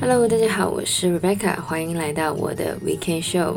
Hello， 大家好，我是 Rebecca， 歡迎來到我的 Weekend Show。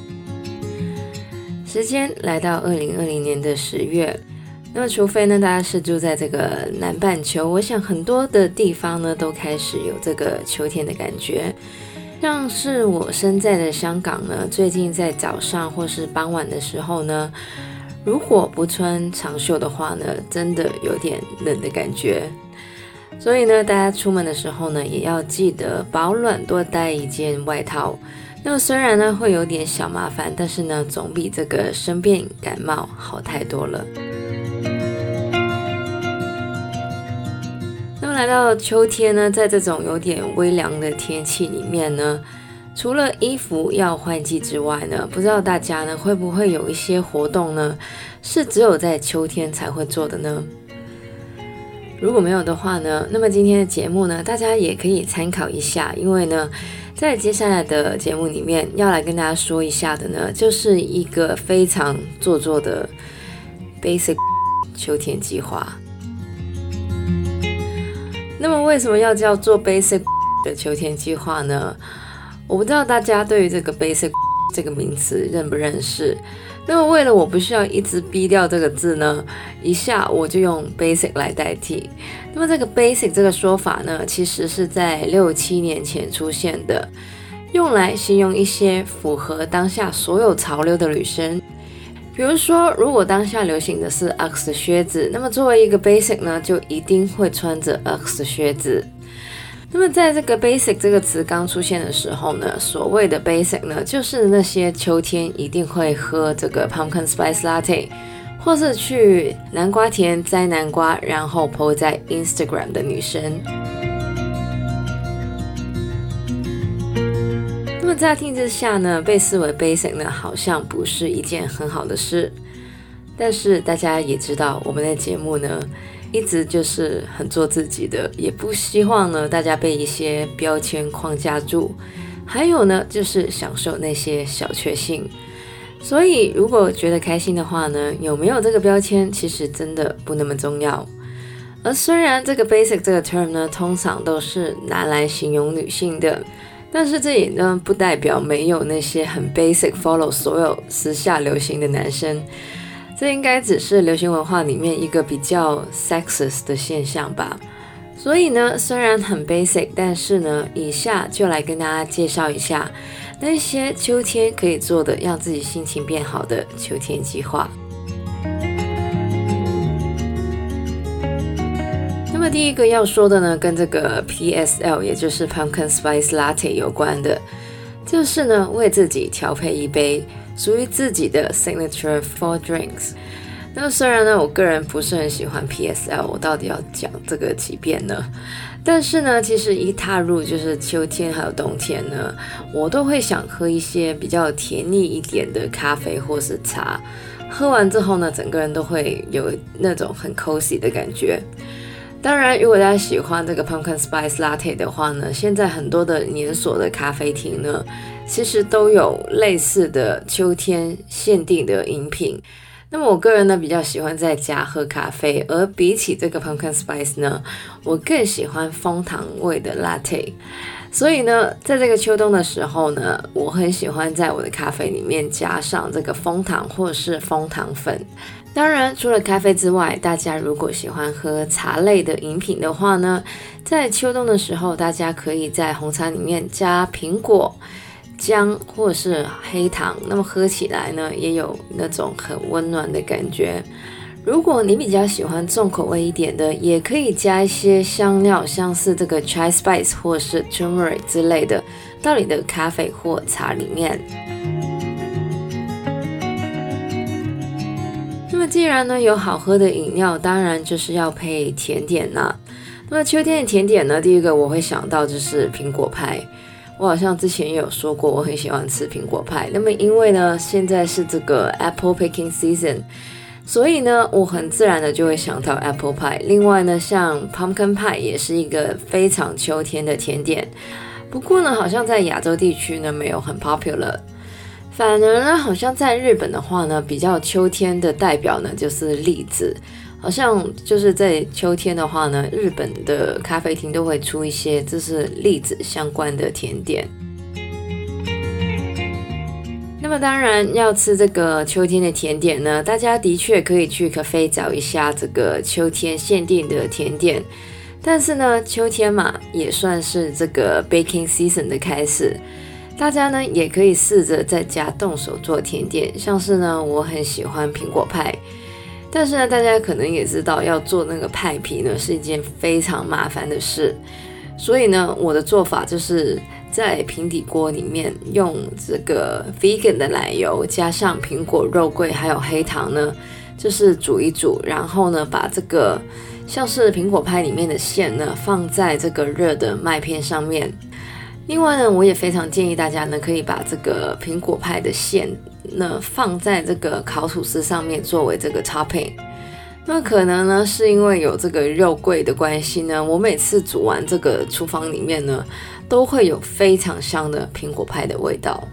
時間來到2020年的10月，那麼除非呢大家是住在這個南半球，我想很多的地方呢都開始有這個秋天的感覺。像是我身在的香港呢，最近在早上或是傍晚的時候呢，如果不穿長袖的話呢，真的有點冷的感覺。所以呢，大家出門的時候呢，也要記得保暖，多帶一件外套。那麼雖然呢會有點小麻煩，但是呢總比這個生病感冒好太多了。那麼來到秋天呢，在這種有點微涼的天氣裡面呢，除了衣服要換季之外呢，不知道大家呢會不會有一些活動呢，是只有在秋天才會做的呢？如果沒有的話呢，那麼今天的節目呢，大家也可以參考一下，因為呢，在接下來的節目裡面要來跟大家說一下的呢，就是一個非常做作的 basic 秋天計劃。那麼為什麼要叫做 basic 的秋天計劃呢？我不知道大家對於這個 basic 這個名詞認不認識。那麼為了我不需要一直逼掉這個字呢，以下我就用 basic 來代替。那麼這個 basic 這個說法呢，其實是在6-7年前出現的，用來形容一些符合當下所有潮流的女生。比如說，如果當下流行的是 Uggs 的靴子，那麼作為一個 basic 呢，就一定會穿着 Uggs 的靴子。那麼在這個 basic 這個詞剛出現的時候呢，所謂的 basic 呢，就是那些秋天一定會喝這個 pumpkin spice latte， 或是去南瓜田摘南瓜，然後 po 在 Instagram 的女生。那麼乍聽之下呢，被視為 basic 呢，好像不是一件很好的事。但是大家也知道，我們的節目呢，一直就是很做自己的，也不希望呢大家被一些標籤框架住，還有呢就是享受那些小確幸。所以如果覺得開心的話呢，有沒有這個標籤其實真的不那麼重要。而雖然這個 basic 這個 term 呢通常都是拿來形容女性的，但是這也呢不代表沒有那些很 basic follow 所有時下流行的男生。這應該只是流行文化裡面一個比較 sexist 的現象吧。所以呢，雖然很 basic， 但是呢，以下就來跟大家介紹一下那些秋天可以做的讓自己心情變好的秋天計劃。那麼第一個要說的呢，跟這個 PSL 也就是 Pumpkin Spice Latte 有關的，就是呢為自己調配一杯屬於自己的 signature fall drinks。那麼雖然呢，我個人不是很喜歡 PSL， 我到底要講這個幾遍呢？但是呢，其實一踏入就是秋天還有冬天呢，我都會想喝一些比較甜膩一點的咖啡或是茶。喝完之後呢，整個人都會有那種很 cozy 的感覺。當然，如果大家喜歡這個 Pumpkin Spice Latte 的話呢，現在很多的連鎖的咖啡廳呢，其實都有類似的秋天限定的飲品。那麼我個人呢比較喜歡在家喝咖啡，而比起這個 Pumpkin Spice 呢，我更喜歡楓糖味的 Latte。所以呢，在這個秋冬的時候呢，我很喜歡在我的咖啡裡面加上這個楓糖或是楓糖粉。當然，除了咖啡之外，大家如果喜歡喝茶類的飲品的話呢，在秋冬的時候，大家可以在紅茶裡面加蘋果、薑或者是黑糖，那麼喝起來呢，也有那種很溫暖的感覺。如果你比較喜歡重口味一點的，也可以加一些香料，像是這個 chai spice 或是 turmeric 之類的，到你的咖啡或茶裡面。那麼既然呢有好喝的飲料，當然就是要配甜點啦。那麼秋天的甜點呢，第一個我會想到就是蘋果派。我好像之前也有說過，我很喜歡吃蘋果派。那麼因為呢現在是這個 apple picking season， 所以呢我很自然的就會想到 apple pie。另外呢，像 pumpkin pie 也是一個非常秋天的甜點。不過呢，好像在亞洲地區呢沒有很 popular。反而呢，好像在日本的話呢，比較秋天的代表呢就是栗子。 好像就是在秋天的話呢，日本的咖啡廳都會出一些就是栗子相關的甜點。那麼當然要吃這個秋天的甜點呢，大家的確可以去咖啡找一下這個秋天限定的甜點。但是呢，秋天嘛，也算是這個 baking season 的開始，大家呢也可以試着在家動手做甜點，像是呢，我很喜歡蘋果派。但是呢，大家可能也知道，要做那個派皮呢是一件非常麻煩的事，所以呢，我的做法就是在平底鍋裡面用這個 vegan 的奶油，加上蘋果、肉桂還有黑糖呢，就是煮一煮，然後呢，把這個像是蘋果派裡面的餡呢放在這個熱的麥片上面。另外呢，我也非常建議大家呢，可以把這個蘋果派的餡呢放在這個烤吐司上面作為這個 topping。那可能呢是因為有這個肉桂的關係呢，我每次煮完這個廚房裡面呢，都會有非常香的蘋果派的味道。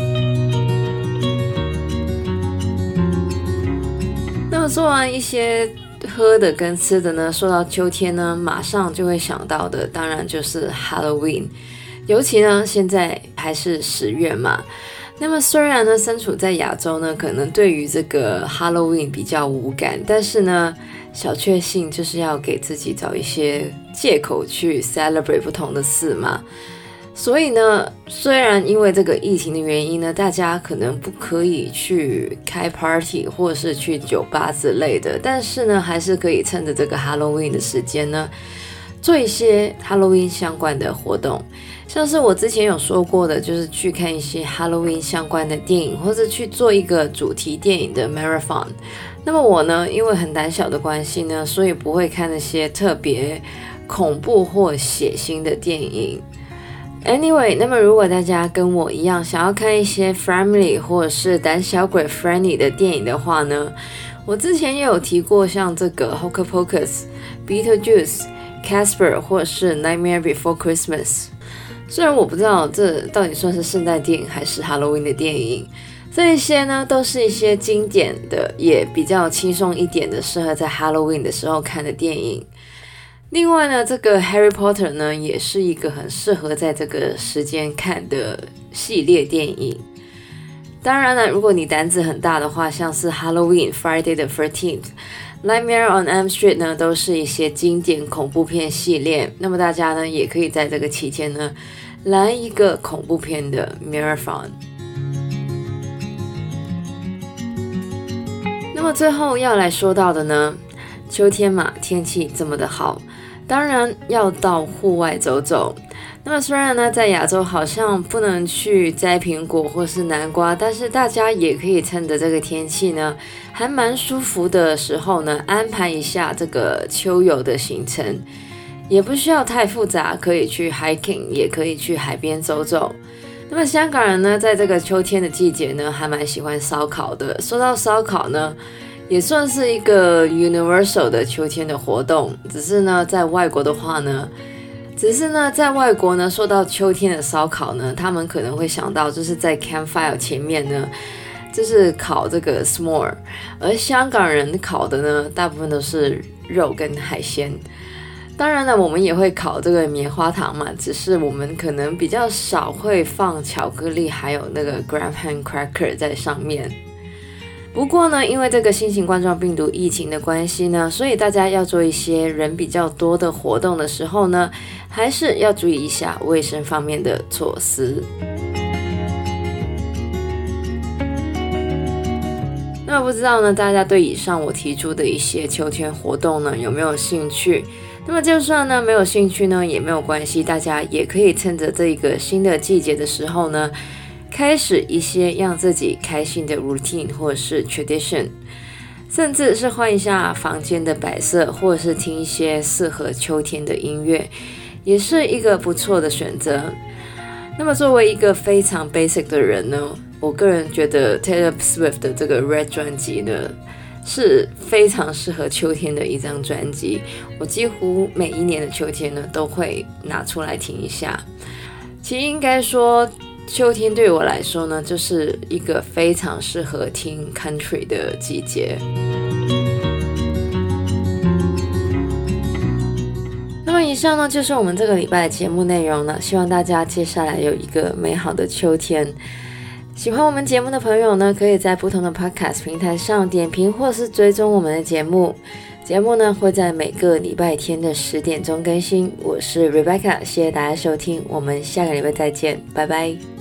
那麼做完一些喝的跟吃的呢，說到秋天呢，馬上就會想到的，當然就是 Halloween。尤其呢，現在還是10月嘛。那麼雖然呢，身處在亞洲呢，可能對於這個 Halloween 比較無感，但是呢，小確幸就是要給自己找一些借口去 celebrate 不同的事嘛。所以呢，雖然因為這個疫情的原因呢，大家可能不可以去開 party 或者是去酒吧之類的，但是呢，還是可以趁着這個 Halloween 的時間呢，做一些 Halloween 相關的活動。像是我之前有說過的，就是去看一些 Halloween 相關的電影，或者去做一個主題電影的 marathon。那麼我呢，因為很膽小的關係呢，所以不會看那些特別恐怖或血腥的電影。Anyway， 那麼如果大家跟我一樣想要看一些 family 或者是膽小鬼 friendly 的電影的話呢，我之前也有提過像這個 Hocus Pocus、Beetlejuice、Casper 或者是 Nightmare Before Christmas。雖然我不知道這到底算是聖誕電影還是 Halloween 的電影，這一些呢都是一些經典的，也比較輕鬆一點的，適合在 Halloween 的時候看的電影。另外呢，這個 Harry Potter 呢也是一個很適合在這個時間看的系列電影。當然了，如果你膽子很大的話，像是 Halloween、Friday the 13th、Nightmare on Elm Street 呢，都是一些經典恐怖片系列。那麼大家呢，也可以在這個期間呢，來一個恐怖片的 marathon。那麼最後要來說到的呢，秋天嘛，天氣這麼的好，當然要到戶外走走。那麼雖然呢，在亞洲好像不能去摘蘋果或是南瓜，但是大家也可以趁着這個天氣呢，還蠻舒服的時候呢，安排一下這個秋遊的行程，也不需要太複雜，可以去 hiking， 也可以去海邊走走。那麼香港人呢，在這個秋天的季節呢，還蠻喜歡燒烤的。說到燒烤呢，也算是一個 universal 的秋天的活動，只是呢，在外國呢，說到秋天的燒烤呢，他們可能會想到就是在 campfire 前面呢，就是烤這個 s'more， 而香港人烤的呢，大部分都是肉跟海鮮。當然了，我們也會烤這個棉花糖嘛，只是我們可能比較少會放巧克力還有那個 graham cracker 在上面。不過呢，因為這個新型冠狀病毒疫情的關係呢，所以大家要做一些人比較多的活動的時候呢，還是要注意一下衛生方面的措施。那不知道呢，大家對以上我提出的一些秋天活動呢，有沒有興趣？那麼就算呢沒有興趣呢，也沒有關係，大家也可以趁着這個新的季節的時候呢，開始一些讓自己開心的 routine 或者是 tradition， 甚至是換一下房間的擺設，或者是聽一些適合秋天的音樂，也是一個不錯的選擇。那麼作為一個非常 basic 的人呢，我個人覺得 Taylor Swift 的這個 Red 專輯呢，是非常適合秋天的一張專輯。我幾乎每一年的秋天呢，都會拿出來聽一下。其實應該說，秋天對我來說呢，就是一個非常適合聽 country 的季節。 以上呢就是我們這個禮拜的節目內容了，希望大家接下來有一個美好的秋天。喜歡我們節目的朋友呢，可以在不同的 podcast 平台上點評或是追蹤我們的節目。節目呢會在每個禮拜天的10點鐘更新。我是 Rebecca，謝謝大家收聽，我們下個禮拜再見，拜拜。